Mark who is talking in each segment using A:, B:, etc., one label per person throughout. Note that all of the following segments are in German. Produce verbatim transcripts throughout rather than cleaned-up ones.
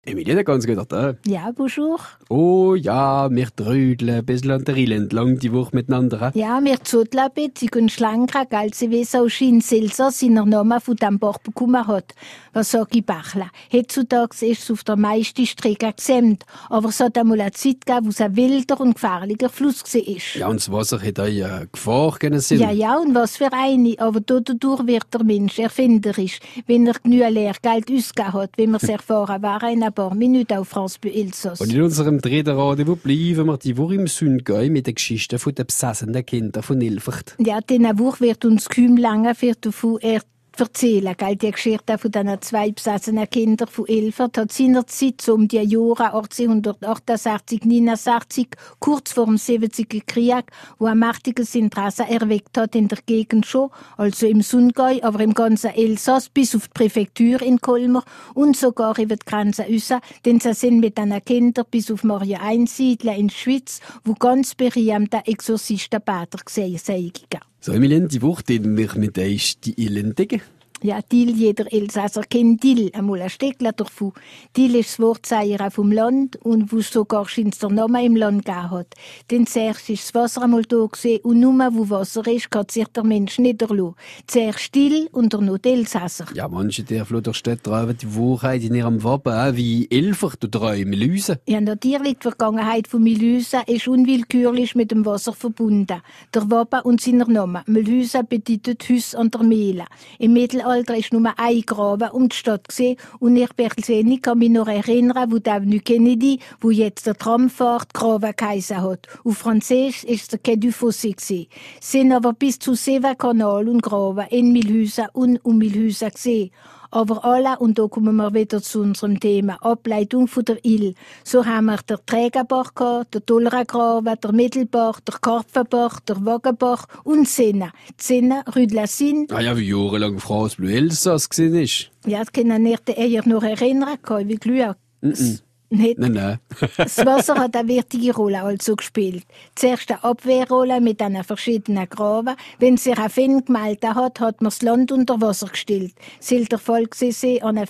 A: Emilia, ganz gut da.
B: Ja, bonjour.
A: Oh ja, wir trödeln ein bisschen an der Rille entlang die Woche miteinander.
B: Ja, wir zodeln ein bisschen und schlanker, gell, sie weiss auch schon Elsass seinen Namen von dem Bach bekommen hat. Was sag ich, Bachler? Heutzutage ist es auf der meisten Strecke gesämt, aber es hat einmal eine Zeit gegeben, wo es ein wilder und gefährlicher Fluss war.
A: Ja, und das Wasser hat auch eine Gefahr können sein.
B: Ja, ja, und was für eine. Aber dadurch wird der Mensch erfinderisch, wenn er genug Lehrgeld ausgegeben hat, wie wir es erfahren waren in ein paar Minuten auf France Bleu Elsass.
A: Und in unserem dritten Rendezvous bleiben wir die Woche im Sundgau mit den Geschichten der besessenen Kinder von Ilfert.
B: Ja, diese Woche wird uns kaum lange für davon er erzählen. Gell? Die Geschichte von diesen zwei besessenen Kindern von Ilfert hat seinerzeit so um die Jahre achtzehnhundertachtundsechzig, neunundsechzig, kurz vor dem siebziger Krieg, wo ein mächtiges Interesse erweckt hat in der Gegend schon, also im Sundgau, aber im ganzen Elsass, bis auf die Präfektur in Colmar und sogar über die Grenze raus, denn sie sind mit diesen Kindern bis auf Maria einsiedeln in der Schweiz, wo ganz berühmte Exorzistenpäter gesehen sind.
A: So, Emilien, die Woche den wir mit euch die Elendigen.
B: Ja, Dill, jeder Elsasser kennt Dill, einmal ein Steckler davon. Dill ist das Wortzeichen vom Land und wo sogar schon der Name im Land gegeben hat. Denn zuerst ist das Wasser einmal da gewesen und nur wo Wasser ist, kann sich der Mensch niederlassen. Zuerst still und dann noch die Elsasser.
A: Ja, manche der Flutterstädte treiben die Wahrheit in ihrem Wappen, auch wie Elfert oder auch Melüse.
B: Ja, natürlich, die Vergangenheit von Melüse ist unwillkürlich mit dem Wasser verbunden. Der Wappen und seiner Name. Melüse bedeutet Hüs an der Mehle. Im Mittelalter Alter ist nur ein Graben um die Stadt gesehen und ich persönlich kann mich noch erinnern, wo der Avenue Kennedy, wo jetzt der Tram fährt, Graben geheissen hat. Auf Französisch ist es der Quai du Fossé gewesen. Es sind aber bis zu sieben Kanal und Graben in Milhausen und um Milhausen gesehen. Aber alle, und da kommen wir wieder zu unserem Thema, Ableitung von der Ill. So haben wir den Trägerbach gehabt, der Dollerengraben, der Mittelbach, der Karpfenbach, der Wagenbach und Senne. Die Senne, Rue de la Sine.
A: Ah ja, wie jahrelang France Bleu Elsass gewesen ist.
B: Ja, das kann ich nicht eher noch erinnern, wie Glück.
A: Mm -mm.
B: Nicht.
A: Nein, nein.
B: Das Wasser hat eine wichtige Rolle also gespielt. Zuerst eine Abwehrrolle mit einer verschiedenen Graben. Wenn sich ein Finn gemeldet hat, hat man das Land unter Wasser gestellt. Soll der Fall gewesen an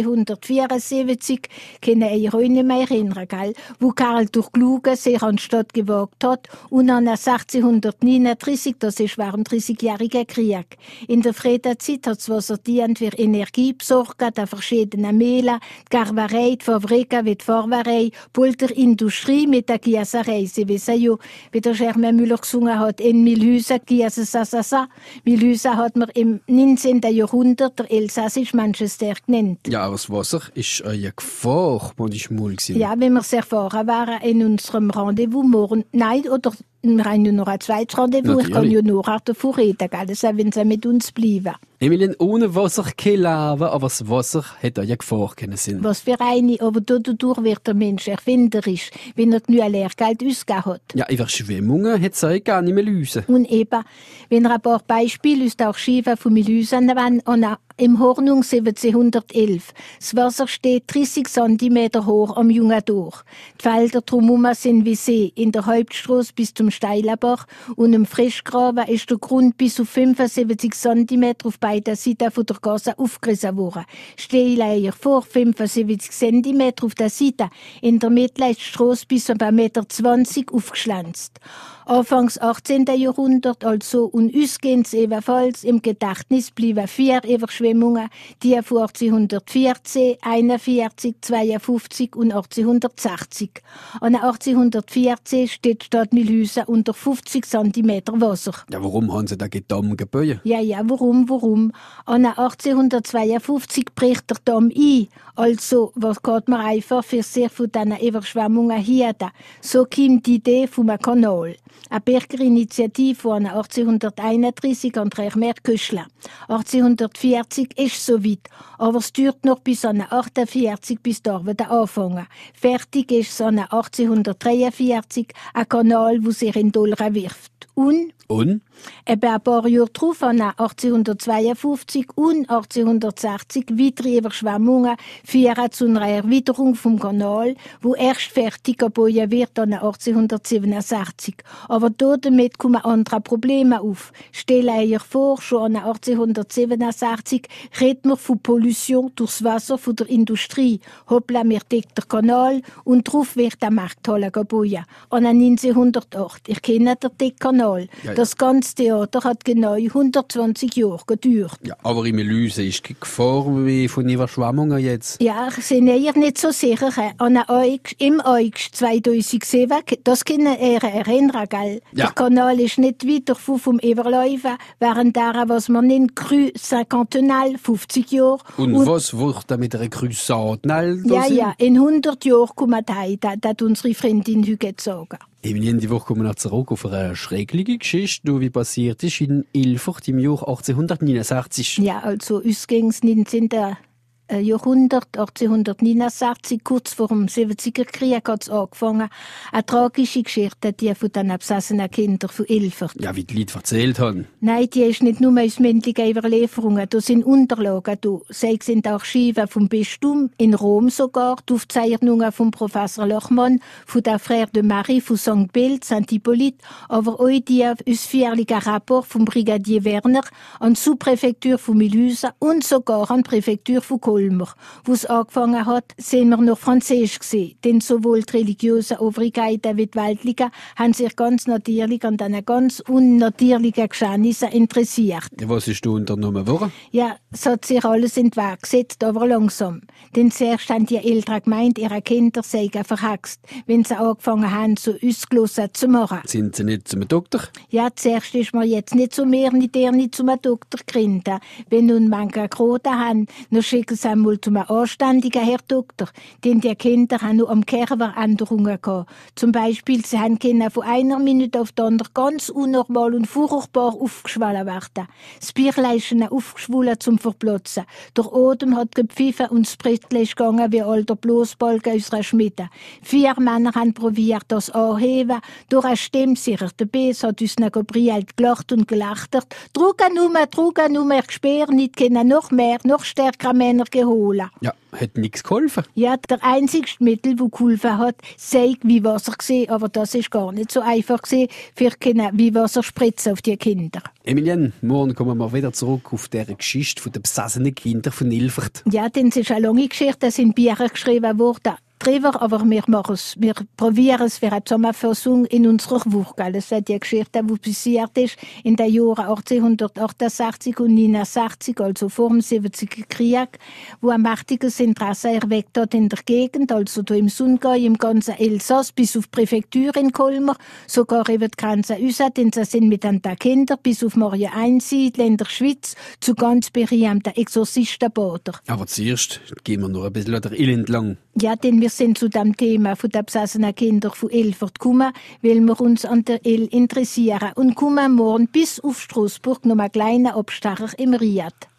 B: vierzehnhundertvierundsiebzig, können ihr euch nicht mehr erinnern, gell? Wo Karl durch Kluge sich an die Stadt gewagt hat und an sechzehnhundertneununddreißig, das ist während dem dreißigjährigen Krieg. In der Friedenzeit hat das Wasser dient für Energie besorgt, an verschiedenen Mehlen, die Gerberei, die Fabriken wie die Farberei, Pulverindustrie mit der Gießerei. Sie wissen ja, wie der Germain Müller gesungen hat, in Milhausen, Gieße, sa, sa, sa. Milhausen hat man im neunzehnten Jahrhundert der elsassisch Manchester genannt.
A: Ja, aber das Wasser ist eine Gefahr, wo ich mal gewesen.
B: Ja, wenn wir es erfahren waren in unserem Rendezvous morgen, nein, oder wir haben ja noch ein zweites Rendezvous,
A: Natürlich.
B: Ich kann ja noch davon reden, gell? Das wenn sie mit uns bleiben.
A: Emilien, ohne Wasser kein Leben, aber das Wasser hat auch eine Gefahr können sein.
B: Was für eine, aber dadurch wird der Mensch erfinderisch, wenn er genug Lehrgeld ausgegeben hat.
A: Ja, Überschwemmungen hat es auch gar nicht mehr lösen.
B: Und eben, wenn er ein paar Beispiele aus der Archive von Milhausen nehmen, im Hornung siebzehnhundertelf. Das Wasser steht dreißig Zentimeter hoch am Jungen durch. Die Felder drumherum sind wie See, in der Hauptstrasse bis zum Steilenbach und im Frischgraben ist der Grund bis auf fünfundsiebzig Zentimeter auf beiden Seiten von der Gasse aufgerissen worden. Steileier vor fünfundsiebzig Zentimeter auf der Seite. In der Mitte ist die Strasse bis auf ein Meter zwanzig aufgeschlänzt. Anfangs achtzehnten Jahrhundert, also und ausgehend ebenfalls im Gedächtnis blieben vier Überschwemmungen, die von achtzehnhundertvierzehn, einundvierzig, zweiundfünfzig und achtzehnhundertsechzig. An achtzehnhundertvierzehn steht die Stadt Milhausen unter fünfzig Zentimeter Wasser.
A: Ja, warum haben sie da Damm gebaut?
B: Ja, ja, warum, warum? An achtzehnhundertzweiundfünfzig bricht der Damm ein. Also, was geht man einfach für sehr von diesen Überschwemmungen hier? So kommt die Idee vom Kanal. Eine Bürgerinitiative von achtzehnhunderteinunddreißig an der Merköschle. achtzehnhundertvierzig ist soweit, aber es dauert noch bis an achtundvierzig, bis die Arbeiten anfangen. Fertig ist es an achtzehnhundertdreiundvierzig, ein Kanal, der sich in Dolra wirft. Und?
A: Und?
B: Eben ein paar Jahre darauf, an achtzehnhundertzweiundfünfzig und achtzehnhundertsechzig, weitere Überschwemmungen führen zu einer Erwiderung vom Kanal, wo erst fertig gebaut wird an achtzehnhundertsiebenundsechzig. Aber damit kommen andere Probleme auf. Stell euch vor, schon an achtzehnhundertsiebenundsechzig reden wir von Pollution durchs Wasser von der Industrie. Hoppla, wir decken den Kanal und drauf wird der Markthalle gebaut. An neunzehnhundertacht. Ich kenne den Deckkanal.
A: Ja, ja.
B: Das ganze Theater hat genau hundertzwanzig Jahre gedauert.
A: Ja, aber in Melüse ist die Gefahr wie von Überschwemmungen jetzt.
B: Ja, ich bin eher nicht so sicher. An August, im August zweitausendsieben, das können ihr erinnern, gell?
A: Ja.
B: Der Kanal ist nicht weit vom Überläufen, während der, was man nennt, Cru Cinquantenal, fünfzig Jahre.
A: Und, und was wird da mit einer Crusade?
B: Ja, ja, in hundert Jahren kommen die, das hat unsere Freundin heute gesagt.
A: In die Woche kommen wir zurück auf eine schrägliche Geschichte, die wie passiert ist in Ilfurt im Jahr achtzehnhundertneunundsechzig.
B: Ja, also ausgangs neunzehnten Jahrhundert, achtzehnhundertneunundsechzig, kurz vor dem siebziger Krieg hat es angefangen. Eine tragische Geschichte, die von den absessenen Kindern von Ilfurt.
A: Ja, wie die Leute erzählt haben.
B: Nein, die ist nicht nur aus mündlichen Überlieferungen, da sind Unterlagen da. Sei es in den Archiven vom Bistum, in Rom sogar, die Aufzeichnungen vom Professor Lochmann, von der Frère de Marie von Sankt Bild, Saint Hippolyte, aber auch die ausführlichen Rapport vom Brigadier Werner an die Subpräfektur von Mulhouse und sogar an die Präfektur von Kolmar. Wo es angefangen hat, sind wir noch Französisch gewesen. Denn sowohl die religiösen Obrigkeiten wie die weltlichen haben sich ganz natürlich an diesen ganz unnatürlichen Geschehnissen interessiert.
A: Was ist da unternommen worden?
B: Ja, es hat sich alles in den Weg gesetzt, aber langsam. Denn zuerst haben die Eltern gemeint, ihre Kinder seien verhext, wenn sie angefangen haben, so ausgelassen zu machen.
A: Sind sie nicht zum Doktor?
B: Ja, zuerst ist man jetzt nicht so mehr, nicht der nicht zum Doktor gerinnt. Wenn nun manche Kroten haben, dann schicken sie einmal zum anständigen Herr Doktor. Denn die Kinder haben nur am Kerber Änderungen gehabt. Zum Beispiel, sie haben Kinder von einer Minute auf die andere ganz unnormal und furchtbar aufgeschwollen werden. Das Bierlein ist ihnen aufgeschwollen zum Verplatzen. Der Odem hat gepfiffen und das Brettchen ist gegangen wie alter Bloßbalken aus einer Schmiede. Vier Männer haben probiert, das anheben. Durch eine Stimme sicher der Bes hat uns Gabriel gelacht und gelächtert. Trugen nur, trugen nur, ich spüre nicht, können noch mehr, noch stärkere Männer geholt.
A: Ja, hat nichts geholfen.
B: Ja, der einzige Mittel, das geholfen hat, sei wie Wasser gesehen, aber das ist gar nicht so einfach gesehen, für können wie Wasser spritzen auf die Kinder.
A: Emilienne, morgen kommen wir wieder zurück auf diese Geschichte der besessenen Kinder von Ilfurt.
B: Ja, denn es ist eine lange Geschichte, es sind Bücher geschrieben worden drüber, aber wir machen es, wir probieren es für eine Zusammenfassung in unserer Woche. Das ist die Geschichte, die passiert ist in den Jahren achtzehnhundertachtundsechzig und neunundsechzig, also vor dem siebziger Krieg, wo ein mächtiges Interesse erweckt hat in der Gegend, also hier im Sundgau, im ganzen Elsass, bis auf die Präfektur in Kolmar, sogar über die Grenze raus, denn sie sind mit den Kindern bis auf Maria einsiedeln in der Schweiz zu ganz berühmten Exorzistenbader.
A: Aber zuerst gehen wir noch ein bisschen der Ill entlang.
B: Ja, denn wir sind zu dem Thema von der besessenen Kinder von Ilfurt gekommen, weil wir uns an der Ill interessieren und kommen morgen bis auf Straßburg noch einen kleinen Abstecher im Riad.